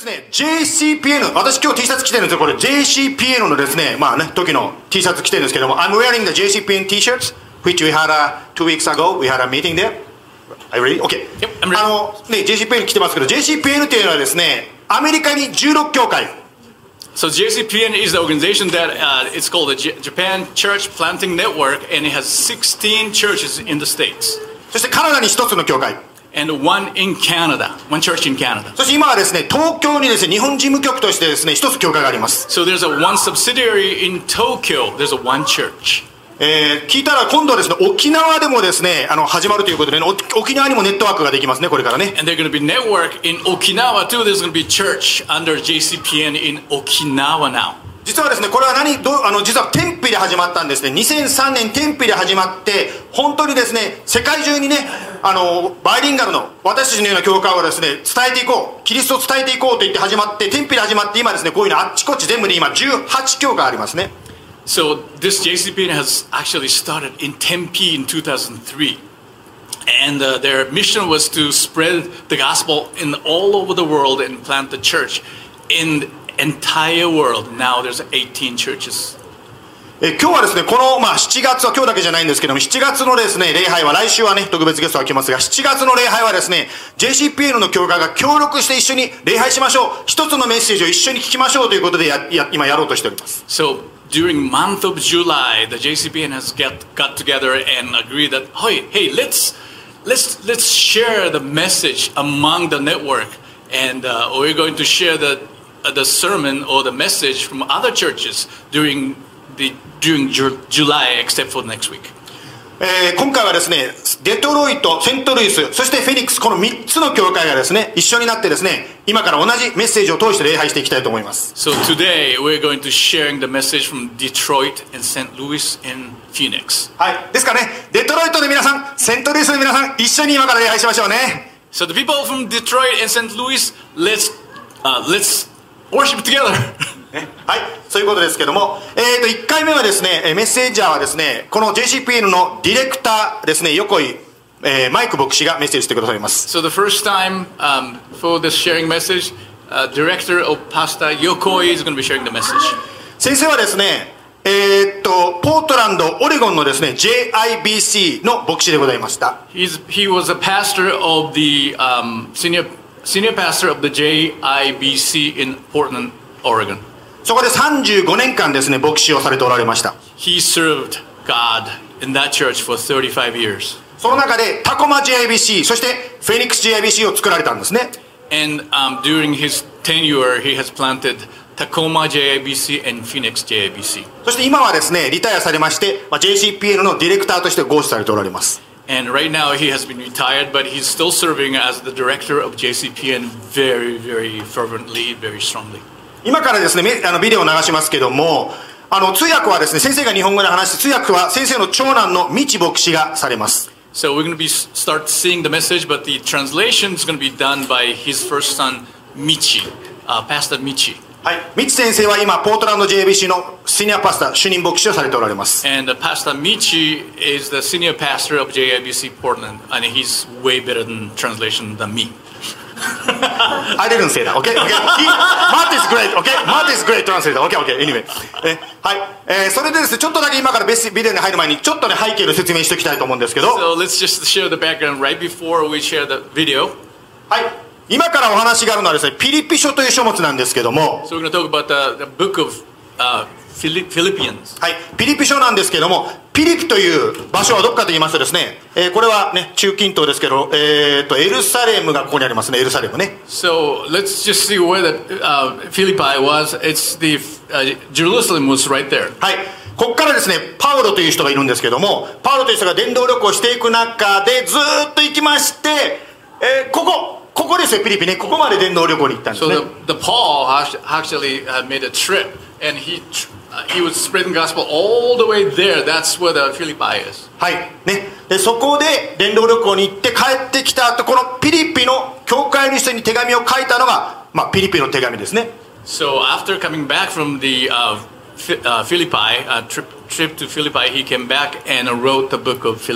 ね、JCPN、私今日 T シャツ着てるんですよ。これ JCPN のですね、まあね、時の T シャツ着てるんですけども、I'm wearing the JCPN T-shirts, which we had 2 weeks ago. We had a meeting there. Are you ready? Okay. Yep, I'm ready. ね、JCPN 着てますけど、JCPN っていうのはですね、アメリカに16教会。 So JCPN is the organization that it's called the Japan Church Planting Network, and it has 16 churches in the States. そしてカナダに1つの教会。 And one in Canada, one church in Canada. そして今はですね、東京にですね、日本事務局としてですね、1つ教会があります。 So there's a one subsidiary in Tokyo. There's a one church. 聞いたら今度はですね、沖縄でもですね、始まるということでね、沖縄にもネットワークができますね、これからね。 And there's going to be network in Okinawa too. There's going to be church under JCPN in Okinawa now. 実はですね、これは実は天日で始まったんですね。2003年天日で始まって、本当にですね、世界中にね、バイリンガルの私たちのような教会をですね、伝えていこう、キリストを伝えていこうと言って始まって、天日で始まって、今ですね、こういうのあっちこっち全部で今18教会ありますね。 So this JCPN has actually started in Tempe in 2003. And their mission was to spread the gospel in all over the world and plant the church in the entire world. Now there's 18 churches. 今日はですね、この、7月は今日だけじゃないんですけども、7月のですね、礼拝は、来週はね、特別ゲストが来ますが、7月の礼拝はですね、JCPN の教会が協力して一緒に礼拝しましょう。一つのメッセージを一緒に聞きましょうということで今やろうとしております。 So during month of July, the JCPN has got together and agreed that, hey, let's share the message among the network, and we're going to share the sermon or the message from other churches during July, except for next week. 今回はですね、デトロイト、セントルイス、そしてフェニックス、この3つの教会がですね、一緒になってですね、今から同じメッセージを通して礼拝していきたいと思います。 So today we're going to sharing the message from Detroit and St. Louis and Phoenix. はい、ですからね、デトロイトの皆さん、セントルイスの皆さん、一緒に今から礼拝しましょうね。 So the people from Detroit and St. Louis, let's worship together. はい、そういうことですけども、1回目はですね、メッセージャーはですね、この JCPN のディレクターですね、横井、マイク牧師がメッセージしてくださいます。 So the first time for this sharing message, director of Pastor Yokoi is going to be sharing the message. 先生はですね、ポートランド、オレゴンのですね、JIBC の牧師でございました。 He was a pastor of the senior pastor of the JIBC in Portland, Oregon. そこで35年間ですね、牧師をされておられました。 He served God in that church for 35 years. その中でタコマ JIBC、そしてフェニックス JIBC を作られたんですね。 And during his tenure, he has planted Tacoma JIBC and Phoenix JIBC. そして今はですね、リタイアされまして、JCPN のディレクターとしてご視されておられます。 And right now he has been retired, but he's still serving as the director of JCPN very, very fervently, very strongly. 今からですね、ビデオを流しますけども、通訳はですね、先生が日本語で話して、通訳は先生の長男の道牧師がされます。 So we're going to start seeing the message, but the translation is going to be done by his first son, Michi, Pastor Michi. はい、道先生は今ポートランド JBC のシニアパスタ、主任牧師をされておられます。 And Pastor Michi is the senior pastor of JIBC Portland, and he's way better in translation than me. I didn't say that, okay? Matt is great, okay? Matt is great translator, okay, anyway. はい、それでですね、ちょっとだけ今からビデオに入る前に、ちょっとね、背景の説明しておきたいと思うんですけど。 So let's just share the background right before we share the video. はい。今からお話があるのはですね、ピリピ書という書物なんですけども。 So we're going to talk about the book of Philippians. はい、ピリピ書なんですけども、ピリピという場所はどこかと言いますとですね、これはね、中近東ですけど、エルサレムがここにありますね、エルサレムね。 So let's just see where the Philippi was. It's the Jerusalem was right there. はい。ここからですね、パウロという人がいるんですけども、パウロという人が伝道旅行していく中でずーっと行きまして、ここですよ、ピリピね。ここまで伝道旅行に行ったんですね。 So the Paul actually made a trip, and he was spreading gospel all the way there. That's where the Philippi is. はいね。でそこで伝道旅行に行って帰ってきた後、このピリピの教会の人に手紙を書いたのが、ピリピの手紙ですね。 So after coming back from the Philippi trip to Philippi, he came back and wrote the book of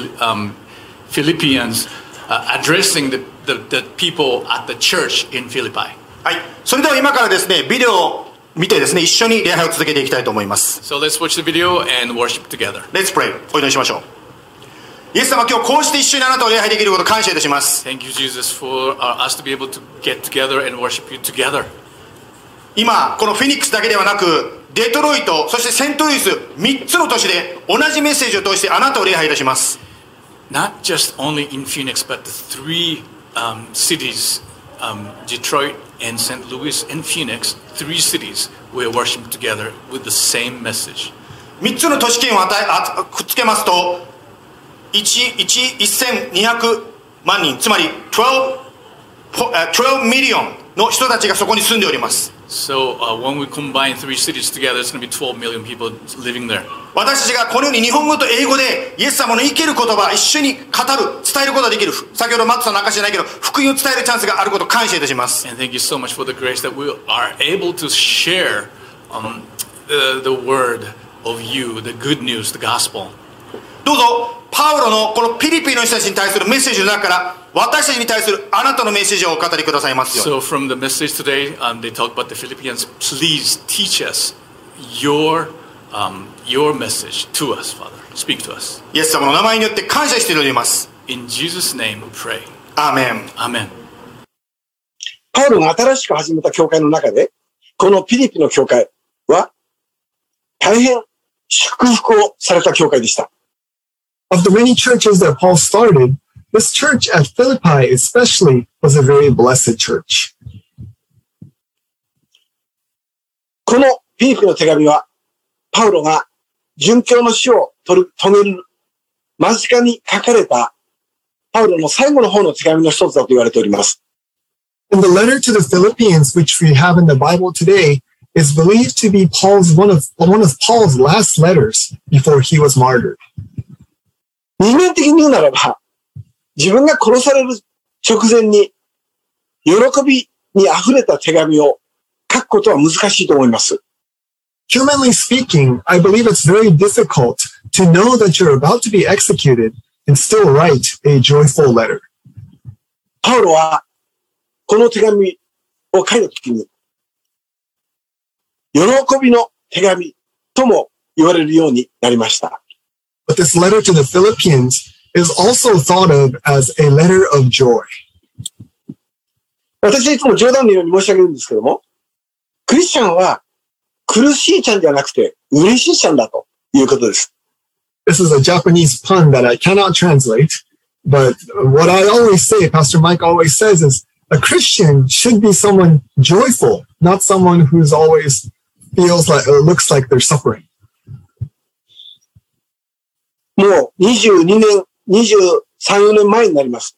Philippians, addressing the people at the church in Philippi. はい。それでは今からですね、ビデオを見てですね、一緒に礼拝を続けていきたいと思います。 So let's watch the video and worship together. Let's pray. お祈りしましょう。イエス様、今日こうして一緒にあなたを礼拝できることを感謝いたします。 Thank you, Jesus, for us to be able to get together and worship you together. 今、このフェニックスだけではなく、デトロイト、そしてセントルイス、3つの都市で同じメッセージを通してあなたを礼拝いたします。 Not just only in Phoenix, but the three cities, Detroit and St. Louis and Phoenix, 3 cities, we are worshiping together with the same message. 3つの都市圏をくっつけますと、1200万人、つまり12ミリオンの人たちがそこに住んでおります。 So when we combine 3 cities together, it's going to be 12 million people living there. 私たちがこのように日本語と英語でイエス様の生きる言葉を一緒に語る、伝えることができる、先ほどマットさんの証しじゃないけど福音を伝えるチャンスがあることを感謝いたします。 And thank you so much for the grace that we are able to share the word of you, the good news, the gospel. どうぞパウロのこのピリピの人たちに対するメッセージの中から私たちに対するあなたのメッセージをお語りくださいますように。 So from the message today, they talk about the Philippians. Please teach us your message to us, Father. Speak to us. イエス様の名前によって感謝しております。 In Jesus' name we pray. アーメン。 Amen. パウロが新しく始めた教会の中で、このピリピの教会は大変祝福をされた教会でした。 Of the many churches that Paul started, this church at Philippi especially was a very blessed church. このピリピの手紙は、パウロが殉教の死を遂げる間近に書かれたパウロの最後の方の手紙の一つだと言われております。 And the letter to the Philippians, which we have in the Bible today, is believed to be one of Paul's last letters before he was martyred. 人間的に言うならば、自分が殺される直前に喜びに溢れた手紙を書くことは難しいと思います。 Humanly speaking, I believe it's very difficult to know that you're about to be executed and still write a joyful letter. パウロはこの手紙を書いたときに、喜びの手紙とも言われるようになりました。 But this letter to the Philippians is also thought of as a letter of joy. 私はいつも冗談のように申し上げるんですけども、クリスチャンは苦しいちゃんじゃなくて嬉しいちゃんだということです。 This is a Japanese pun that I cannot translate, but what I always say, Pastor Mike always says is, a Christian should be someone joyful, not someone who's always feels like or looks like they're suffering. もう22年、23、4年前になります。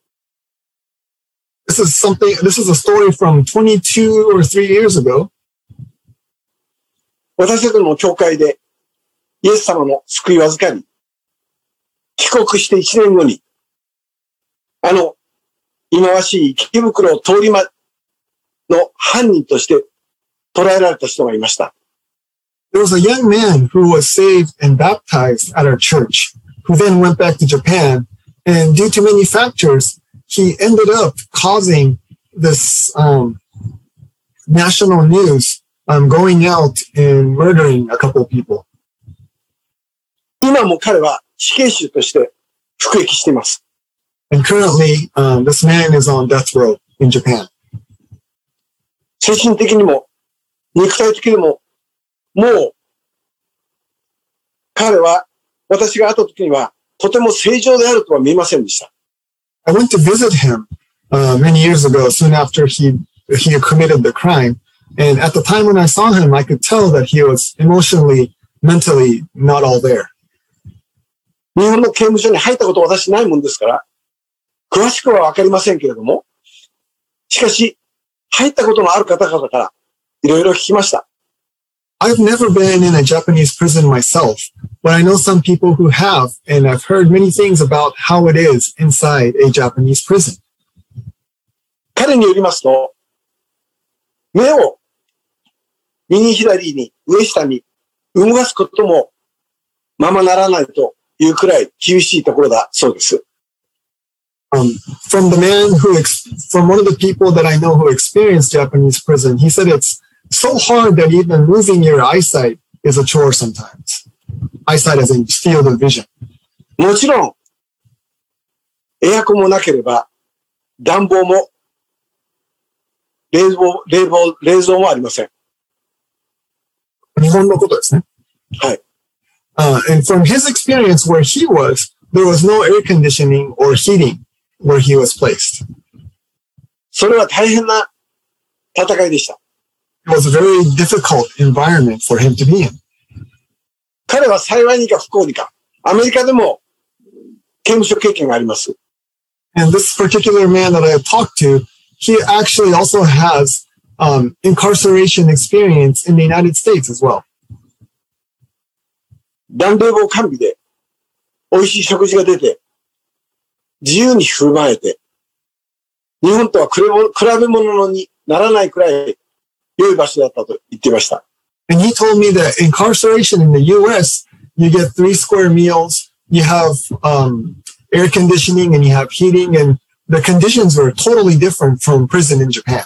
This is a story from 22 or 3 years ago. 私たちの教会でイエス様の救いを預かり、帰国して1年後に、忌まわしい池袋通り魔の犯人として捕らえられた人がいました。 There was a young man who was saved and baptized at our church, who then went back to Japan, and due to many factors, he ended up causing this national news, going out and murdering a couple of people. 今も彼は死刑囚として服役しています。 And currently, this man is on death row in Japan. 精神的にも肉体的にももう彼は私が会った時にはとても正常であるとは見えませんでした。 I went to visit him many years ago, soon after he committed the crime. And at the time when I saw him, I could tell that he was emotionally, mentally not all there. 日本の刑務所に入ったことは私ないもんですから、詳しくはわかりませんけれども、しかし、入ったことのある方々からいろいろ聞きました。 I've never been in a Japanese prison myself, but I know some people who have, and I've heard many things about how it is inside a Japanese prison. 彼によりますと、目を右左に上下に動かすこともままならないというくらい厳しいところだそうです。 from the man from one of the people that I know who experienced Japanese prison, he said it's so hard that even moving your eyesight is a chore sometimes. Eyesight as in field of vision. もちろん、エアコンもなければ、暖房も、冷蔵もありません。 日本のことですね。 はい。 And from his experience where he was, there was no air conditioning or heating where he was placed. それは大変な戦いでした。 It was a very difficult environment for him to be in. 彼は幸いにか不幸にか、アメリカでも刑務所経験があります。 And this particular man that I have talked to, he actually also has incarceration experience in the United States as well. 暖冷房完備で美味しい食事が出て、自由に振る舞えて、日本とは比べ物にならないくらい良い場所だったと言っていました。 And he told me that incarceration in the U.S., you get 3 square meals, you have air conditioning, and you have heating, and the conditions were totally different from prison in Japan.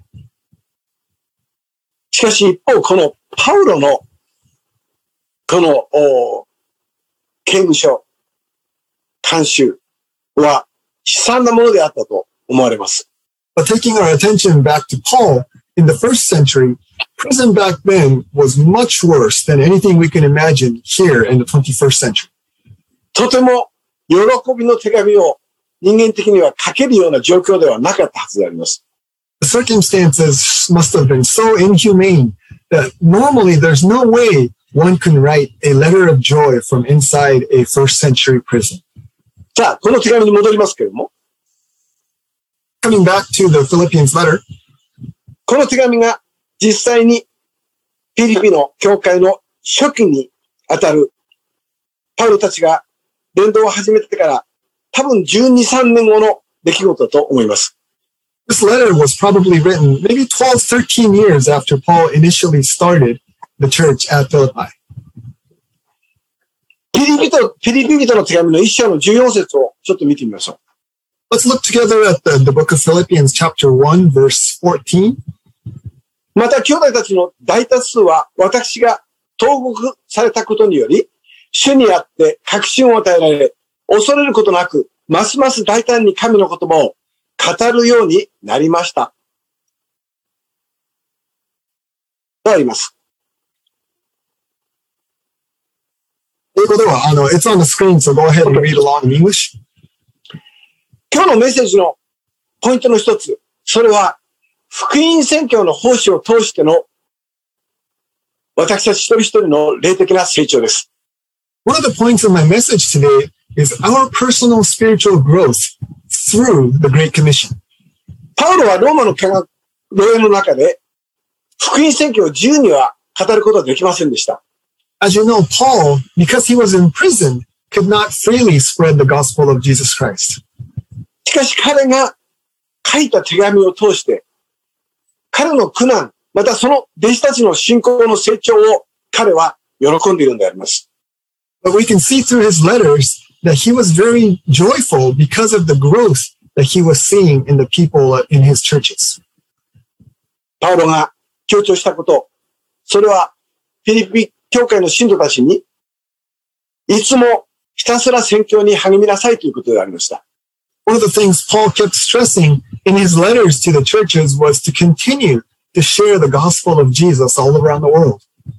しかし一方、このパウロのこの刑務所、慣習は悲惨なものであったと思われます。 But taking our attention back to Paul, in the first century, prison back then was much worse than anything we can imagine here in the 21st century. とても喜びの手紙を人間的には書けるような状況ではなかったはずであります。 The circumstances must have been so inhumane that normally there's no way one can write a letter of joy from inside a first century prison. さあ、この手紙に戻りますけれども。 Coming back to the Philippians letter. この手紙が実際にフィリピの教会の初期にあたるパウロたちが伝道を始めてから多分12、13年後の出来事だと思います。 This letter was probably written maybe 12, 13 years after Paul initially started the church at Philippi. フィリピ人の手紙の1章の14節をちょっと見てみましょう。 Let's look together at the book of Philippians chapter 1 verse 14. また兄弟たちの大多数は私が投獄されたことにより、主にあって確信を与えられ、恐れることなく、ますます大胆に神の言葉を語るようになりました。とあります。 It's on the screen, so go ahead and read along in English. 今日のメッセージのポイントの一つ、それは福音宣教の奉仕を通しての私たち一人一人の霊的な成長です。 One of the points of my message today is our personal spiritual growth through the Great Commission. パウロはローマの牢屋の中で福音宣教を自由には語ることはできませんでした。 As you know, Paul, because he was in prison, could not freely spread the gospel of Jesus Christ. しかし彼が書いた手紙を通して、彼の苦難、またその弟子たちの信仰の成長を彼は喜んでいるのであります。 But we can see through his letters that he was very joyful because of the growth that he was seeing in the people in his churches. パウロが強調したこと、それはフィリピ教会の信徒たちに、いつもひたすら宣教に励みなさいということでありました。 One of the things Paul kept stressing in his letters to the churches was to continue to share the gospel of Jesus all around the world.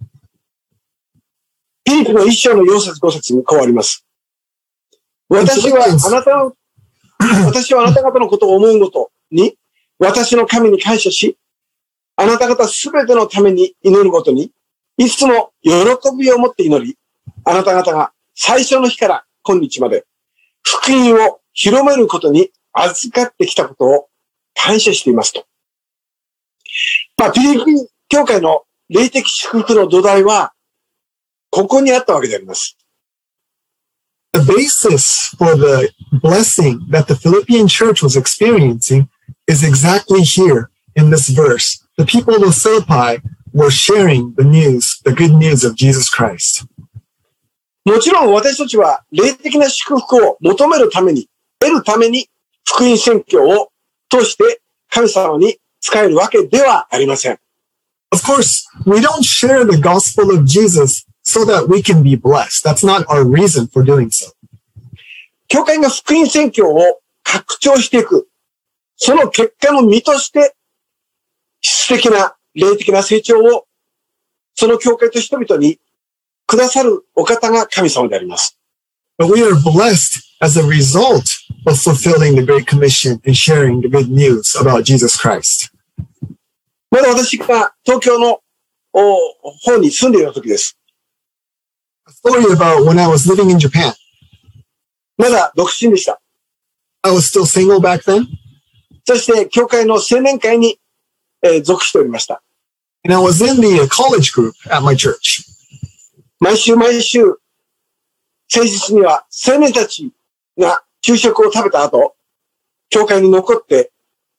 フィリピの1章の4節5節にこうあります。私はあなた方のことを思うごとに、私の神に感謝し、あなた方すべてのために祈るごとに、いつも喜びを持って祈り、あなた方が最初の日から今日まで、福音を広めることに預かってきたことを感謝していますと。フィリピン教会の霊的祝福の土台は、ここにあったわけであります。 The basis for the blessing that the Philippian church was experiencing is exactly here in this verse. The people of Philippi were sharing the good news of Jesus Christ. もちろん私たちは霊的な祝福を求めるために、得るために福音宣教を通して神様に仕えるわけではありません。 Of course, we don't share the gospel of Jesus so that we can be blessed. That's not our reason for doing so. 教会が福音宣教を拡張していく。その結果の身として、質的な、霊的な成長を、その教会と人々にくださるお方が神様であります。 But we are blessed as a result of fulfilling the Great Commission and sharing the good news about Jesus Christ. まだ私が東京の方に住んでいる時です。 A story about when I was living in Japan. まだ独身でした。 I was still single back then. そして、教会の青年会に、属しておりました。 And I was in the college group at my church. 毎週、誠実には青年たちが昼食を食べた後、教会に残って、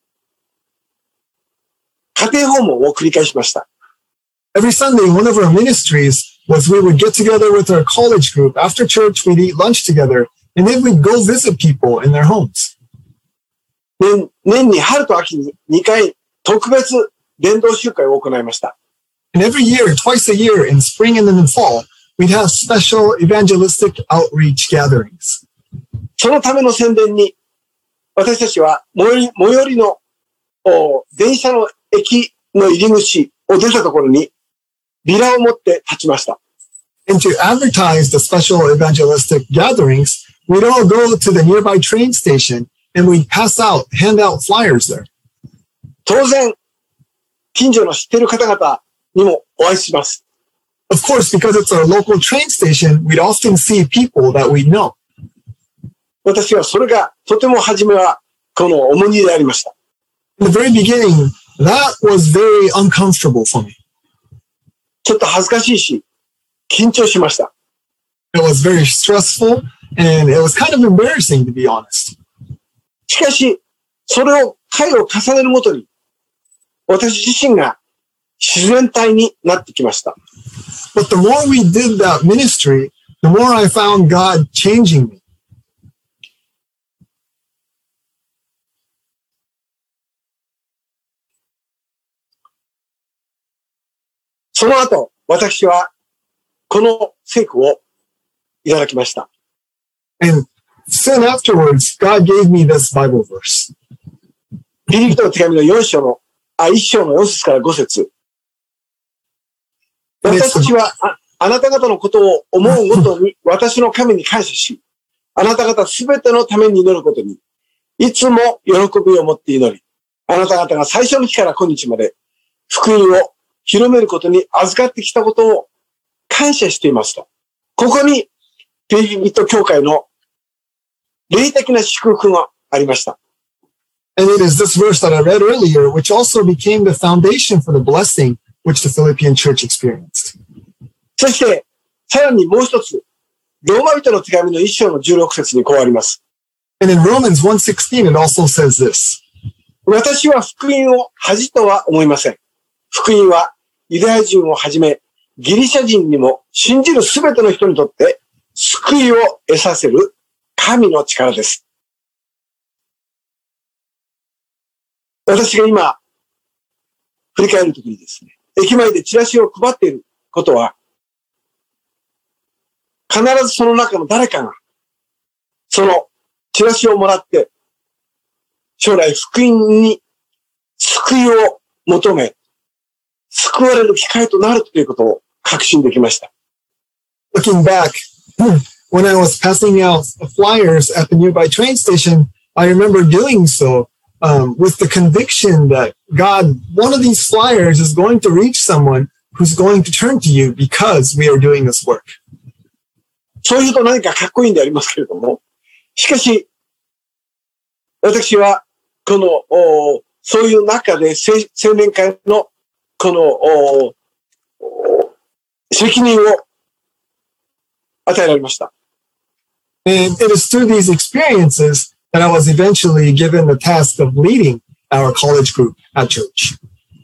家庭訪問を繰り返しました。 Every Sunday, one of our ministries was we would get together with our college group. After church, we'd eat lunch together, and then we'd go visit people in their homes. 年に春と秋に2回特別伝道集会を行いました。 And every year, twice a year, in spring and then in fall, we'd have special evangelistic outreach gatherings. そのための宣伝に、私たちは最寄りの電車の駅の入り口を出たところにビラを持って立ちました。 And to advertise the special evangelistic gatherings, we'd all go to the nearby train station and we'd hand out flyers there. 当然、近所の知っている方々にもお会いします。 Of course, because it's our local train station, we'd often see people that we know. 私はそれがとても初めはこの重荷でありました。 In the very beginning, that was very uncomfortable for me. ちょっと恥ずかしいし、緊張しました。 It was very stressful and it was kind of embarrassing, to be honest. しかし、それを回を重ねるごとに、私自身が自然体になってきました。 But the more we did that ministry, the more I found God changing me. その後、私はこの聖句をいただきました。 And soon afterwards, God gave me this Bible verse. ピリピトの手紙の1章の4節から5節。私たちはあなた方のことを思うごとに私の神に感謝し、あなた方すべてのために祈ることに、いつも喜びを持って祈り、あなた方が最初の日から今日まで福音を広めることに預かってきたことを感謝していますと。ここにピリピト教会の霊的な祝福がありました。 And it is this verse that I read earlier, which also became the foundation for the blessing which the Philippian church experienced. そして、さらにもう一つ、ローマ人の手紙の1章の16節にこうあります。 And in Romans 1:16, it also says this. 私は福音を恥とは思いません。福音はユダヤ人をはじめ、ギリシャ人にも信じるすべての人にとって救いを得させる神の力です。私が今、振り返るときにですね、駅前でチラシを配っていることは、必ずその中の誰かが、そのチラシをもらって、将来福音に救いを求め、救われる機会となるということを確信できました。 Looking back, when I was passing out flyers at the nearby train station, I remember doing so with the conviction that God, one of these flyers is going to reach someone who's going to turn to you because we are doing this work. そういうと何かかっこいいんでありますけれども、しかし、私は、そういう中で青年会の、責任を与えられました。 And it is through these experiences that I was eventually given the task of leading our college group at church.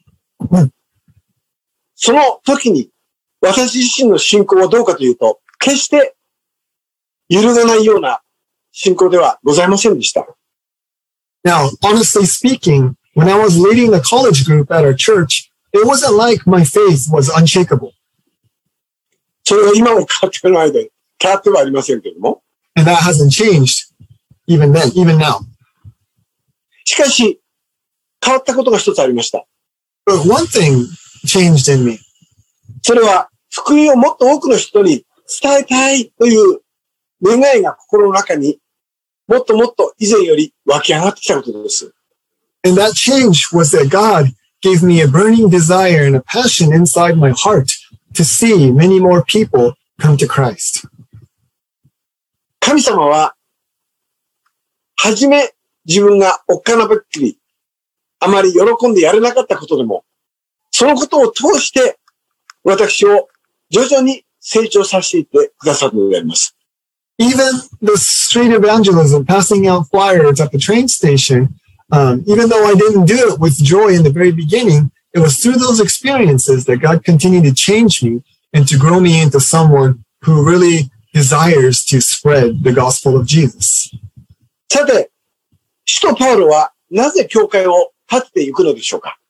その時に、私自身の信仰はどうかというと、決して揺るがないような信仰ではございませんでした。 Now, honestly speaking, when I was leading the college group at our church, it wasn't like my faith was unshakable. それは今も変わってないで、変わってはありませんけども。 And that hasn't changed even then, even now. しかし、変わったことが一つありました。 But one thing changed in me. それは、福音をもっと多くの人に伝えたいという願いが心の中にもっともっと以前より湧き上がってきたことです。 And that change was that God gave me a burning desire and a passion inside my heart to see many more people come to Christ. 神様は、はじめ自分がおっかなばっきり、あまり喜んでやれなかったことでも、そのことを通して私を徐々に成長させていってくださるのであります。 Even the street evangelism, passing out flyers at the train station, even though I didn't do it with joy in the very beginning, it was through those experiences that God continued to change me and to grow me into someone who really desires to spread the gospel of Jesus. さて、使徒パウロはなぜ教会を建てていくのでしょうか？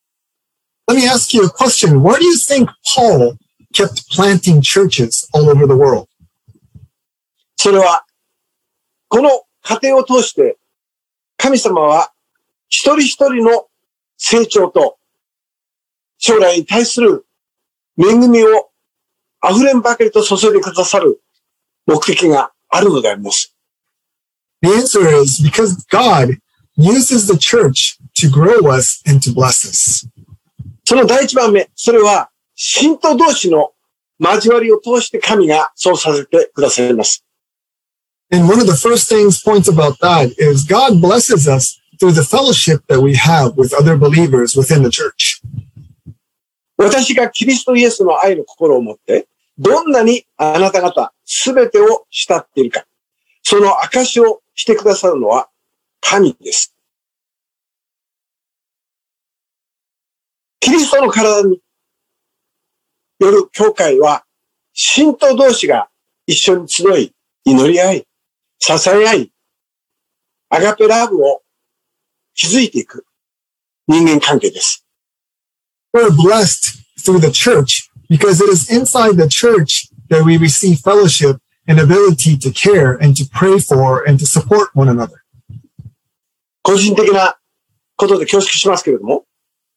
Let me ask you a question. Why do you think Paul kept planting churches all over the world? それは、この過程を通して、神様は一人一人の成長と将来に対する恵みを溢れんばかりと注いでくださる目的があるのであります。 The answer is because God uses the church to grow us and to bless us. その第一番目、それは信徒同士の交わりを通して神がそうさせてくださいます。 And one of the first points about that is God blesses us through the fellowship that we have with other believers within the church. 私がキリストイエスの愛の心を持って、どんなにあなた方すべてを慕っているか、その証をしてくださるのは神です。キリストの体による教会は、信徒同士が一緒に集い、祈り合い、支え合い、アガペラブを築いていく人間関係です。 We're blessed through the church because it is inside the church that we receive fellowship and ability to care and to pray for and to support one another. 個人的なことで恐縮しますけれども、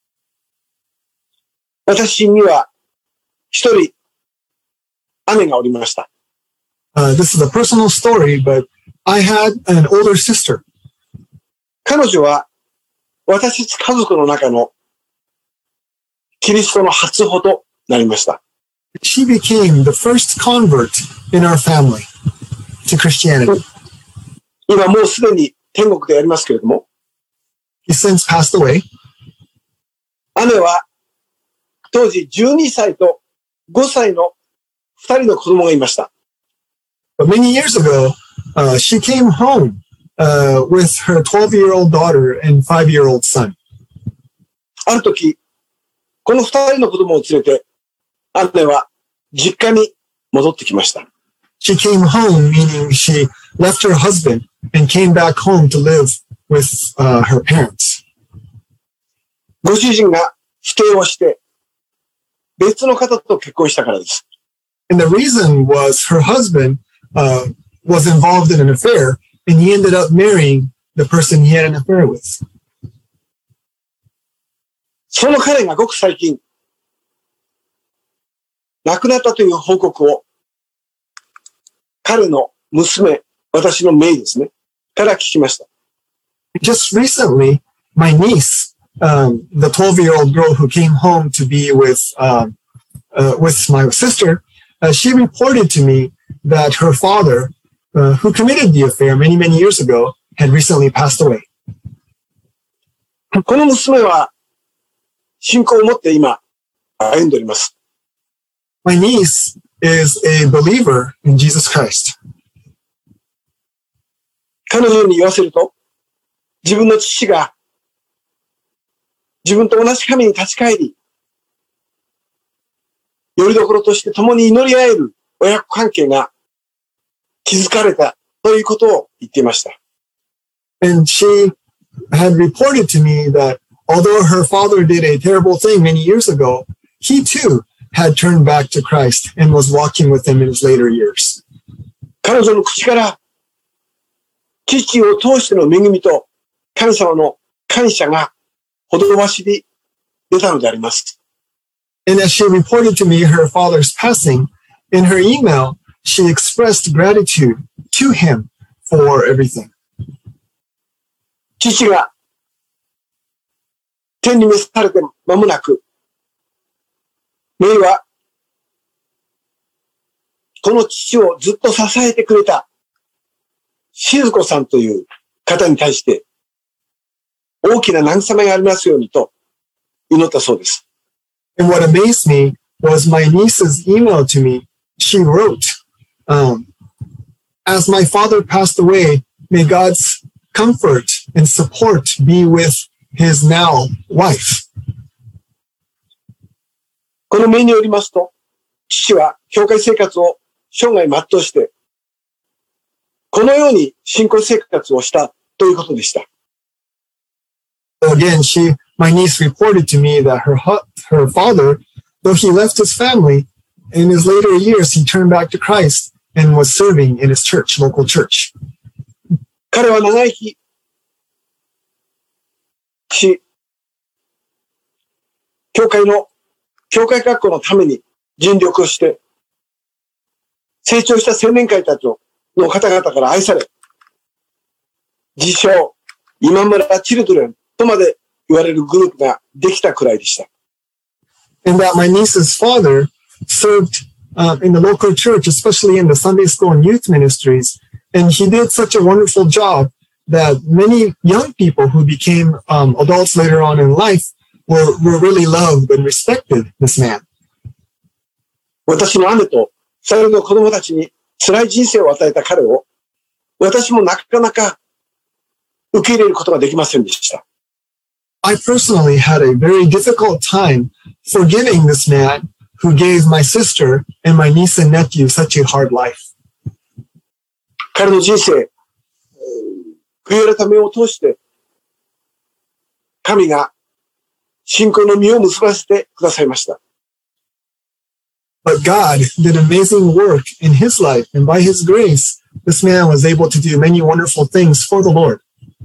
私には一人姉がおりました。 This is a personal story, but I had an older sister. 彼女は私たち家族の中のキリストの初歩となりました。 She became the first convert in our family to Christianity. 今もうすでに天国でありますけれども、 He since passed away. 姉は当時12歳と5歳の2人の子供がいました。 But many years ago, she came home with her 12-year-old daughter and 5-year-old son. ある時、この2人の子供を連れて、姉は実家に戻ってきました。 She came home, meaning she left her husband and came back home to live with her parents. ご主人が否定をして、別の方と結婚したからです。 And the reason was her husband was involved in an affair, and he ended up marrying the person he had an affair with. その彼がごく最近、亡くなったという報告を、彼の娘、私の姪ですね、から聞きました。 Just recently, my niece, the 12-year-old girl who came home to be with my sister, she reported to me that her father, who committed the affair many, many years ago, had recently passed away. この娘は、信仰を持って今、歩んでおります。 My niece is a believer in Jesus Christ. 彼女に言わせると、自分の父が、自分と同じ神に立ち返り、よりどころとして共に祈り合える親子関係が築かれたということを言っていました。 And she had reported to me that although her father did a terrible thing many years ago, he too had turned back to Christ and was walking with him in his later years. 彼女の口から父を通しての恵みと神様の感謝がほどばしり出たのであります。 And as she reported to me her father's passing, in her email, she expressed gratitude to him for everything. 父が天に召されて間もなく、メイはこの父をずっと支えてくれた静子さんという方に対して大きな慰めがありますようにと祈ったそうです。 And what amazed me was my niece's email to me. She wrote, as my father passed away, may God's comfort and support be with his now wife. このメイによりますと、父は教会生活を生涯全うして、このように信仰生活をしたということでした。 Again, my niece reported to me that her father, though he left his family, in his later years, he turned back to Christ and was serving in his church, local church. 彼は長生きし、教会学校のために尽力をして、成長した青年会たちの方々から愛され、自称、今村チルドレンとまで言われるグループができたくらいでした。 And that my niece's father served in the local church, especially in the Sunday school and youth ministries. And he did such a wonderful job that many young people who became adults later on in life were really loved and respected this man. 私の姉と2人の子供たちに辛い人生を与えた彼を、私もなかなか受け入れることができませんでした。 I personally had a very difficult time forgiving this man who gave my sister and my niece and nephew such a hard life. 彼の人生、悔い改めを通して、神が信仰の実を結ばせてくださいました。 But God did amazing work in his life, and by his grace, this man was able to do many wonderful things for the Lord.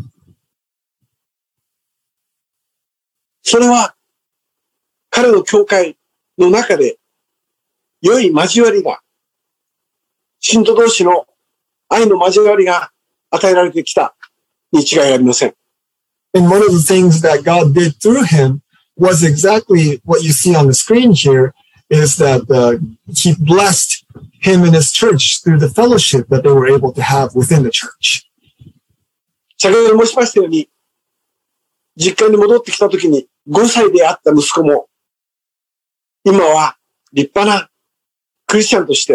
それは、彼の教会の中で、良い交わりが、信徒同士の愛の交わりが与えられてきたに違いありません。 And one of the things that God did through him was exactly what you see on the screen here, is that he blessed him and his church through the fellowship that they were able to have within the church. 先ほど申しましたように、実家に戻ってきたときに5歳であった息子も、今は立派なクリスチャンとして、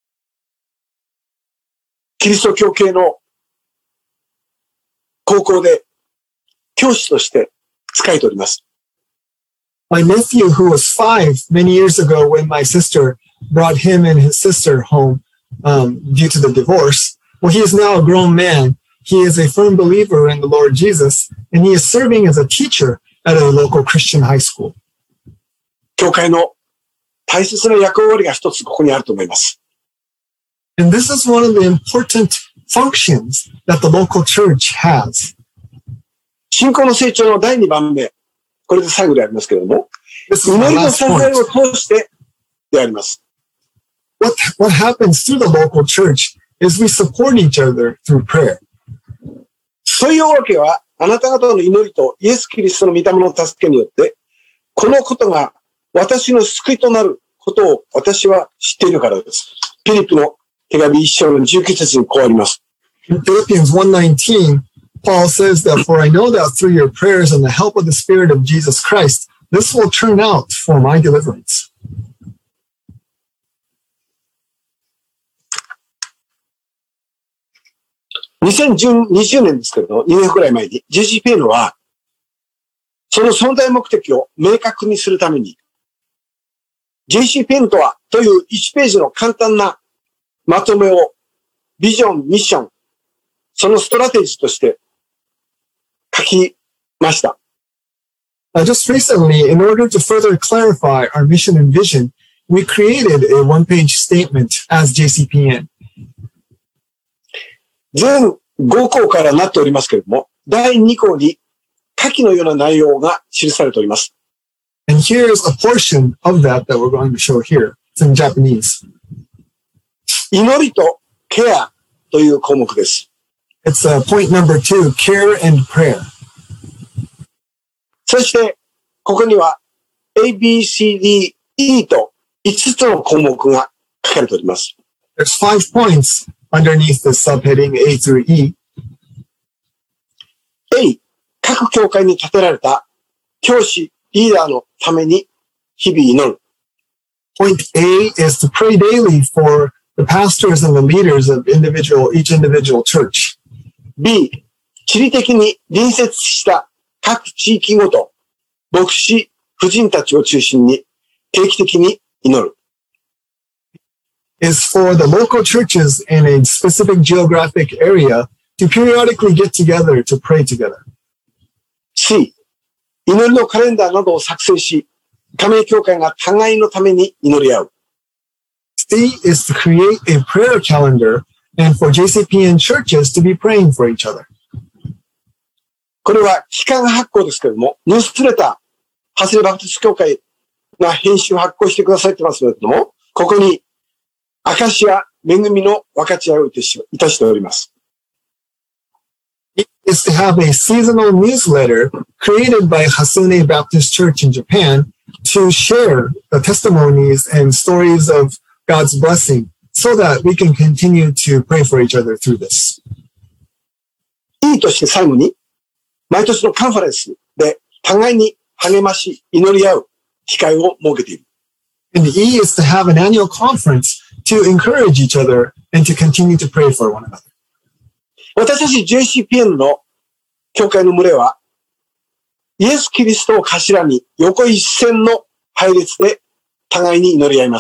キリスト教系の高校で教師として仕えております。 My nephew, who was 5 many years ago when my sister brought him and his sister home due to the divorce, well, he is now a grown man. He is a firm believer in the Lord Jesus, and he is serving as a teacher at a local Christian high school. 教会の大切な役割が一つここにあると思います。 And this is one of the important functions that the local church has. 信仰の成長の第2番目。これで最後でありますけれども、祈りの支えを通してであります。 What happens through the local church is we support each other through prayer. そういうわけは、あなた方の祈りとイエス・キリストの御霊の助けによって、このことが私の救いとなることを私は知っているからです。ピリピの手紙1章の19節にこうあります。 In Philippians 1:19, Paul says that, for I know that through your prayers and the help of the Spirit of Jesus Christ, this will turn out for my deliverance. 2020年ですけれど、2年くらい前に JCPN は、その存在目的を明確にするために、JCPN とはという1ページの簡単なまとめを、ビジョン、ミッション、そのストラテジーとして書きました。 Just recently, in order to further clarify our mission and vision, we created a one-page statement as JCPN. 全5項からなっておりますけれども、第2項に下記のような内容が記されております。 And here's a portion of that we're going to show here. It's in Japanese. 祈りとケアという項目です。 It's point number 2, care and prayer. そして、ここには A, B, C, D, E と5つの項目が書かれております。 There's 5 points underneath the subheading A through E. A、各教会に建てられた教師、リーダーのために日々祈る。 Point A is to pray daily for the pastors and the leaders of each individual church. B、地理的に隣接した各地域ごと、牧師、婦人たちを中心に定期的に祈る。 Is for the local churches in a specific geographic area to periodically get together to pray together. C、祈りのカレンダーなどを作成し、加盟教会が互いのために祈り合う。 C is to create a prayer calendar and for JCPN churches to be praying for each other. これは期間発行ですけれども、ニュースレター、ハスレバプテスト教会が編集発行してくださってますけれども、ここに証や恵みの分かち合いをいたしております。 It is to have a seasonal newsletter created by Hasune Baptist Church in Japan to share the testimonies and stories of God's blessing so that we can continue to pray for each other through this. E として最後に、毎年のカンファレンスで互いに励まし、祈り合う機会を設けている。 And E is to have an annual conference to encourage each other and to continue to pray for one another. 私たち JCPN の教会の群れは、イエス・キリストを頭に横一線の配列で互いに祈り合います。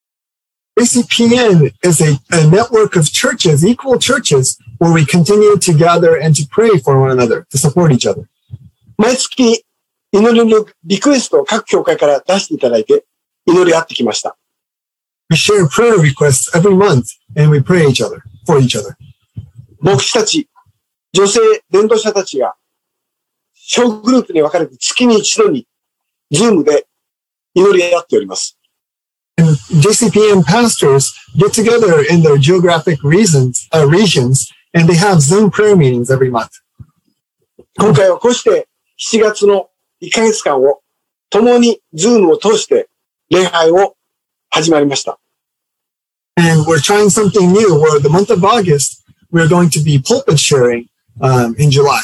JCPN is a network of churches, equal churches, where we continue to gather and to pray for one another, to support each other. 毎月祈りのリクエストを各教会から出していただいて祈り合ってきました。 We share prayer requests every month and we pray for each other. 牧師たち、女性伝道者たちが小グループに分かれて月に一度にズームで祈り合っております。 And JCPN pastors get together in their geographic regions and they have Zoom prayer meetings every month. 今回はこうして7月の1ヶ月間を共にズームを通して礼拝を始まりました。 And we're trying something new where the month of August we're going to be pulpit sharing in July.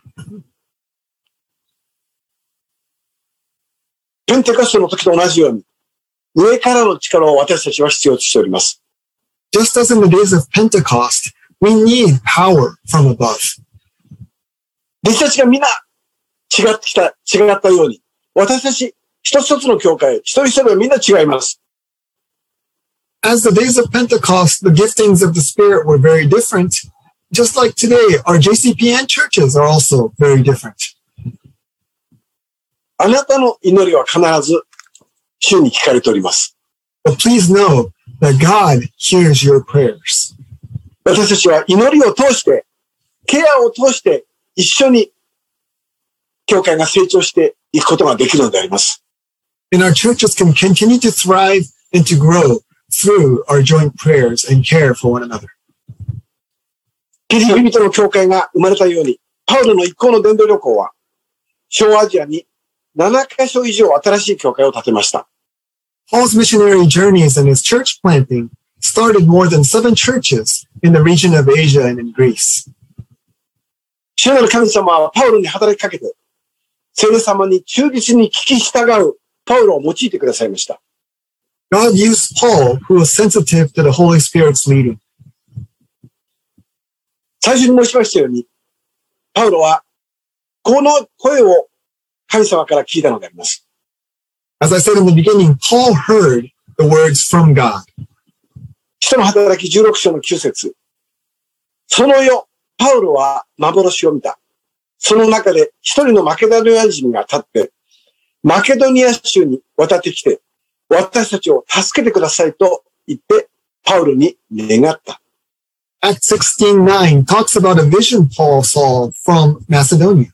ペンテコステの時と同じように上からの力を私たちは必要としております。 Just as in the days of Pentecost, we need power from above. 弟子たちがみんな違ったように、私たち一つ一つの教会、一人一人はみんな違います。 As the days of Pentecost, the giftings of the Spirit were very different. Just like today, our JCPN churches are also very different. あなたの祈りは必ず主に聞かれております。 But please know that God hears your prayers. 私たちは祈りを通して、ケアを通して一緒に教会が成長していくことができるのであります。 And our churches can continue to thrive and to grow through our joint prayers and care for one another. キリスト人の教会が生まれたように、パウロの一行の伝道旅行は、小アジアに7カ所以上新しい教会を建てました。 Paul's missionary journeys and his church planting started more than 7 churches in the region of Asia and in Greece. 主なる神様はパウロに働きかけて、聖霊様に忠実に聞き従うパウロを用いてくださいました。 God used Paul, who was sensitive to the Holy Spirit's leading. 最初に申しましたように、パウロはこの声を神様から聞いたのであります。 As I said in the beginning, Paul heard the words from God. 使徒の働き16章の9節。その夜、パウロは幻を見た。 その中で一人のマケドニア人が立って、マケドニア州に渡ってきて、私たちを助けてくださいと言って、パウロに願った。 Acts 16:9 talks about a vision Paul saw from Macedonia.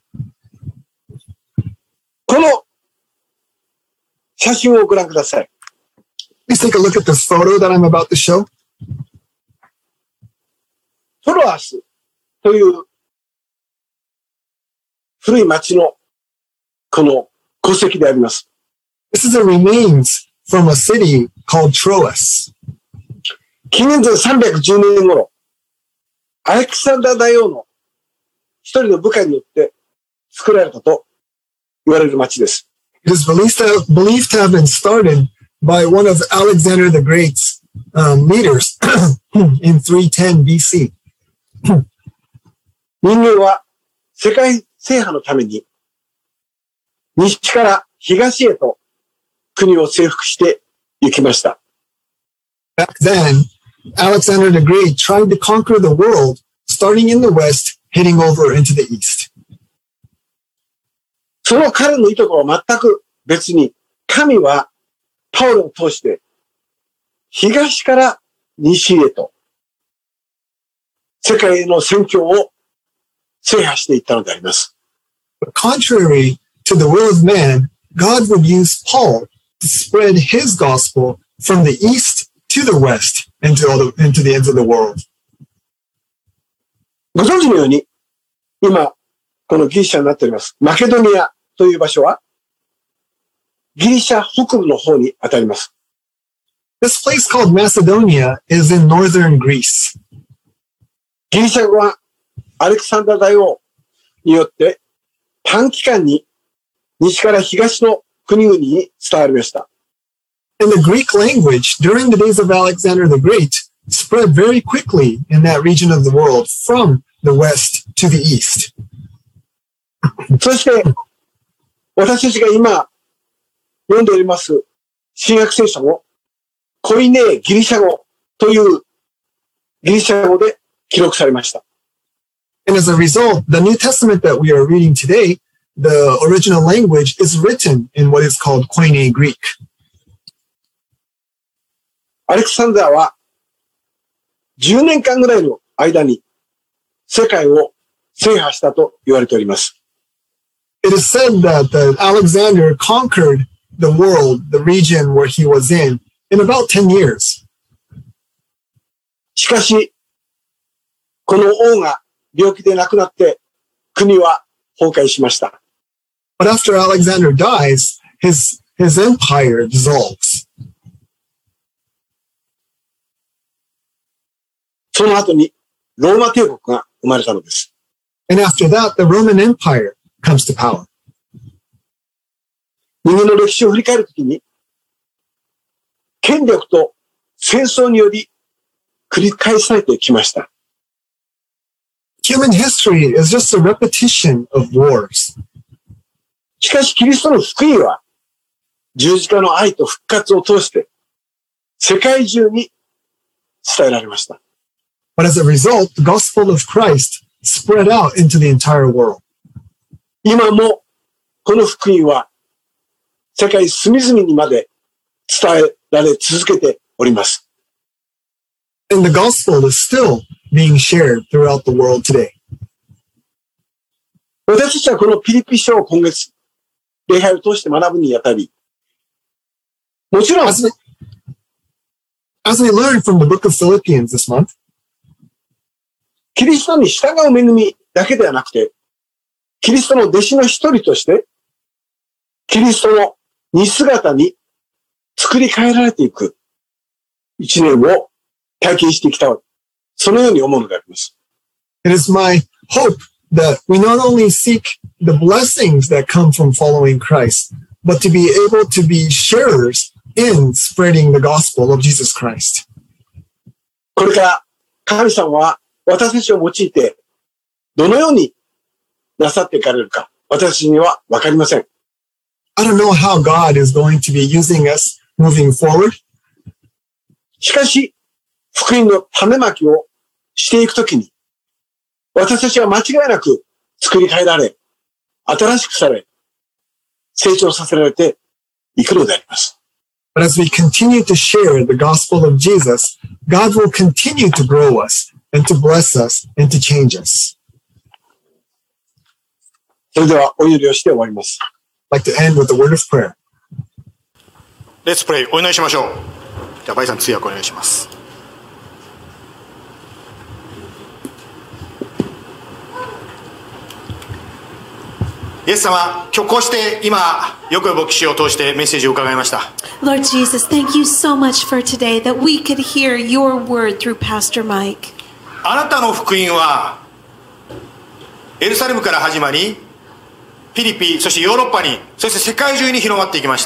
この写真をご覧ください。 Please take a look at this photo that I'm about to show. トロアスという古い町のこの戸籍であります。 This is the remains from a city called Troas. 紀元前310年頃、アレクサンダー大王の一人の部下によって作られたと言われる町です。 It is believed to have been started by one of Alexander the Great's leaders in 310 BC. 人間は世界制覇のために西から東へと国を征服して行きました。 Back then, Alexander the Great tried to conquer the world, starting in the west, heading over into the east. その彼の意図とは全く別に、神はパウロを通して東から西へと世界への宣教を制覇していったのであります。 But contrary to the will of man, God would use Paul to spread his gospel from the east to the west into the ends of the world. ご存知のように、今、このギリシャになっております。マケドニアという場所は、ギリシャ北部の方に当たります。 This place called Macedonia is in northern Greece. ギリシャ語はアレクサンダー大王によって短期間に西から東の国々に伝わりました。 And the Greek language during the days of Alexander the Great spread very quickly in that region of the world from the west to the east. そして、私たちが今読んでおります新約聖書もコイネーギリシャ語というギリシャ語で記録されました。 And as a result, the New Testament that we are reading today, the original language is written in what is called Koine Greek. アレクサンダーは10年間ぐらいの間に世界を制覇したと言われております。 It is said that Alexander conquered the world, the region where he was in about 10 years. しかし、この王が病気で亡くなって国は崩壊しました。 But after Alexander dies, his empire dissolves. その後にローマ帝国が生まれたのです。 And after that, the Roman Empire comes to power. 人間の歴史を振り返るときに、権力と戦争により繰り返されてきました。 Human history is just a repetition of wars. しかしキリストの福音は十字架の愛と復活を通して世界中に伝えられました。 But as a result, the gospel of Christ spread out into the entire world. 今もこの福音は世界隅々にまで伝えられ続けております。 And the gospel is still being shared throughout the world today. 私たちはこのピリピ書を今月、礼拝を通して学ぶにあたり、もちろん、 As we learned from the book of Philippians this month, キリストに従う恵みだけではなくて、キリストの弟子の一人として、キリストの似姿に作り変えられていく一年を体験してきた、そのように思うのであります。 it is my hope that we not only seek the blessings that come from following Christ, but to be able to be sharers in spreading the gospel of Jesus Christ. これから神様は私たちを用いてどのようになさっていかれるか、私にはわかりません。 I don't know how God is going to be using us moving forward. しかし、福音の種まきをしていくときに、私たちは間違いなく作り変えられ、新しくされ、成長させられていくのであります。 But as we continue to share the gospel of Jesus, God will continue to grow us and to bless us and to change us. それではお祈りをして終わります。 I'd like to end with a word of prayer. Let's pray. お祈りしましょう。じゃあバイさん通訳お願いします。イエス様、今日こうして今よく牧師を通してメッセージを伺いました。 Lord Jesus, thank you so much for today that we could hear your word through Pastor Mike. あなたの福音はエルサレムから始まり、フィリピン、そしてヨーロッパに、そして世界中に広まっていきました。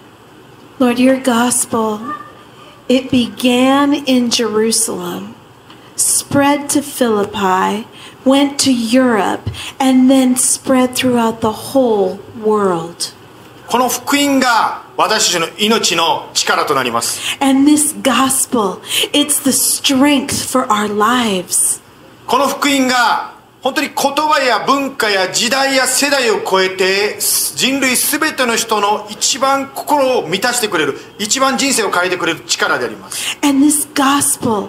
Lord, your gospel, it began in Jerusalem, spread to Philippi, went to Europe, and then spread throughout the whole world. この福音が私たちの命の力となります。 And this gospel, it's the strength for our lives. この福音が本当に言葉や文化や時代や世代を超えて人類すべての人の一番心を満たしてくれる、一番人生を変えてくれる力であります。 And this gospel,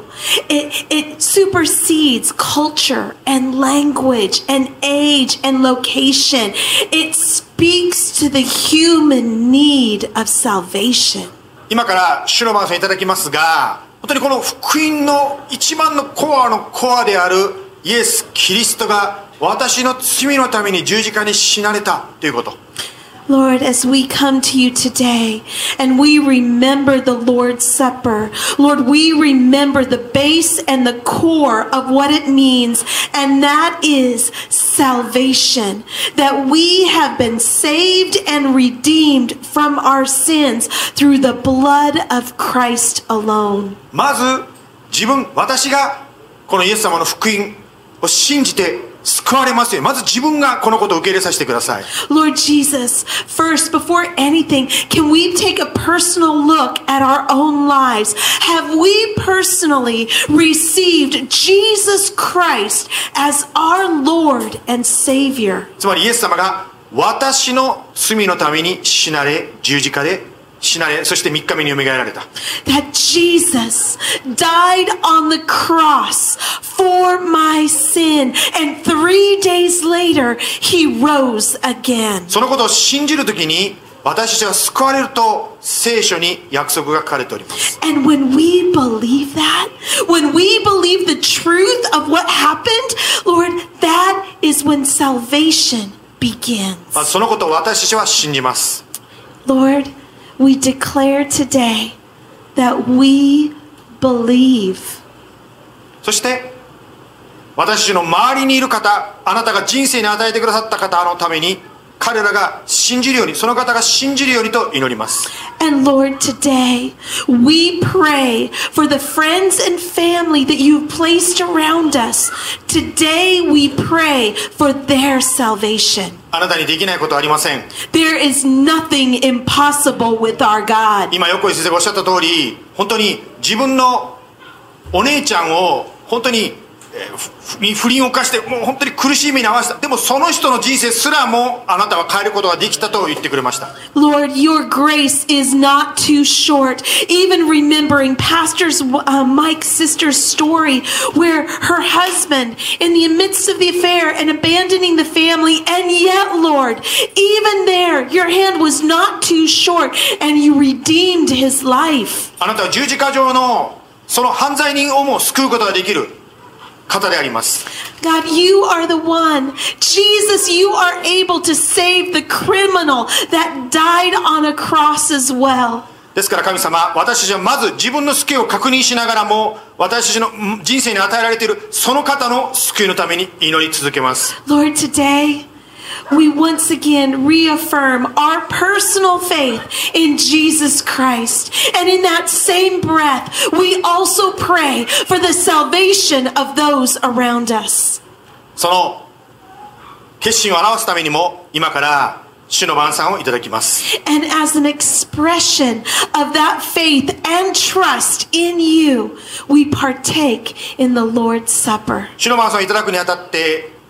it supersedes culture and language and age and location. It speaks to the human need of salvation. 今から主の番宣いただきますが、本当にこの福音の一番のコアのコアであるイエス・キリストが私の罪のために十字架に死なれたということ。 Lord, as we come to you today and we remember the Lord's Supper, Lord, we remember the base and the core of what it means, and that is salvation. That we have been saved and redeemed from our sins through the blood of Christ alone. まず私がこのイエス様の福音を信じて救われますよ。まず自分がこのことを受け入れさせてください。 Lord Jesus, first, before anything, can we take a personal look at our own lives? Have we personally received Jesus Christ as our Lord and Savior? つまりイエス様が私の罪のために死なれ、十字架で死なれ、そして3日目によみがえられた。 That Jesus died on the cross for my sin, and 3 days later he rose again. そのことを信じるときに私たちは救われると聖書に約束が書かれております。 And when we believe that, when we believe the truth of what happened, Lord, that is when salvation begins. まずそのことを私たちは信じます。 Lord, we declare today that we believe. そして私たちの周りにいる方、あなたが人生に与えてくださった方のために彼らが信じるように、その方が信じるようにと祈ります。 And Lord, today we pray for the friends and family that you've placed around us. Today we pray for their salvation. あなたにできないことはありません。 There is nothing impossible with our God. 今横井先生がおっしゃった通り、本当に自分のお姉ちゃんを本当に不倫を犯してもう本当に苦しい目に遭わせた。でもその人の人生すらもあなたは変えることができたと言ってくれました。 Lord, your grace is not too short. Even remembering Pastor Mike's sister's story where her husband in the midst of the affair and abandoning the family, and yet, Lord, even there your hand was not too short and you redeemed his life. あなたは十字架上のその犯罪人をも救うことができる方であります。 God, you are the one. Jesus, you are able to save the criminal that died on a cross as well. ですから神様、私たちはまず自分の救いを確認しながらも私たちの人生に与えられているその方の救いのために祈り続けます。 Lord, today we once again reaffirm our personal faith in Jesus Christ. And in that same breath, we also pray for the salvation of those around us. その決心を表すためにも今から主の晩餐をいただきます。 And as an expression of that faith and trust in you, we partake in the Lord's Supper. 主の晩餐をいただくにあたって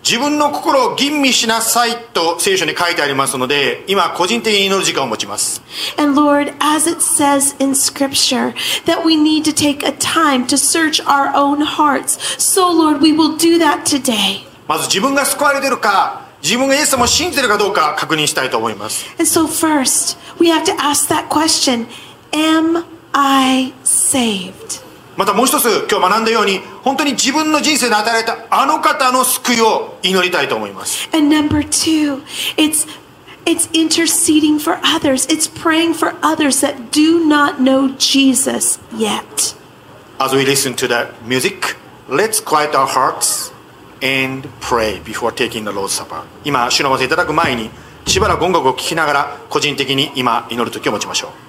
自分の心を吟味しなさいと聖書に書いてありますので、今個人的に祈る時間を持ちます。 And Lord, as it says in Scripture, that we need to take a time to search our own hearts. So Lord, we will do that today. まず自分が救われているか、自分がイエス様を信じているかどうか確認したいと思います。 And so first, we have to ask that question, am I saved? またもう一つ今日学んだように、本当に自分の人生で与えられたあの方の救いを祈りたいと思います。 And number two, it's interceding for others. It's praying for others that do not know Jesus yet. As we listen to the music, let's quiet our hearts and pray before taking the Lord's Supper. 今、主の御せいただく前に、しばらく音楽を聴きながら、個人的に今祈る時を持ちましょう。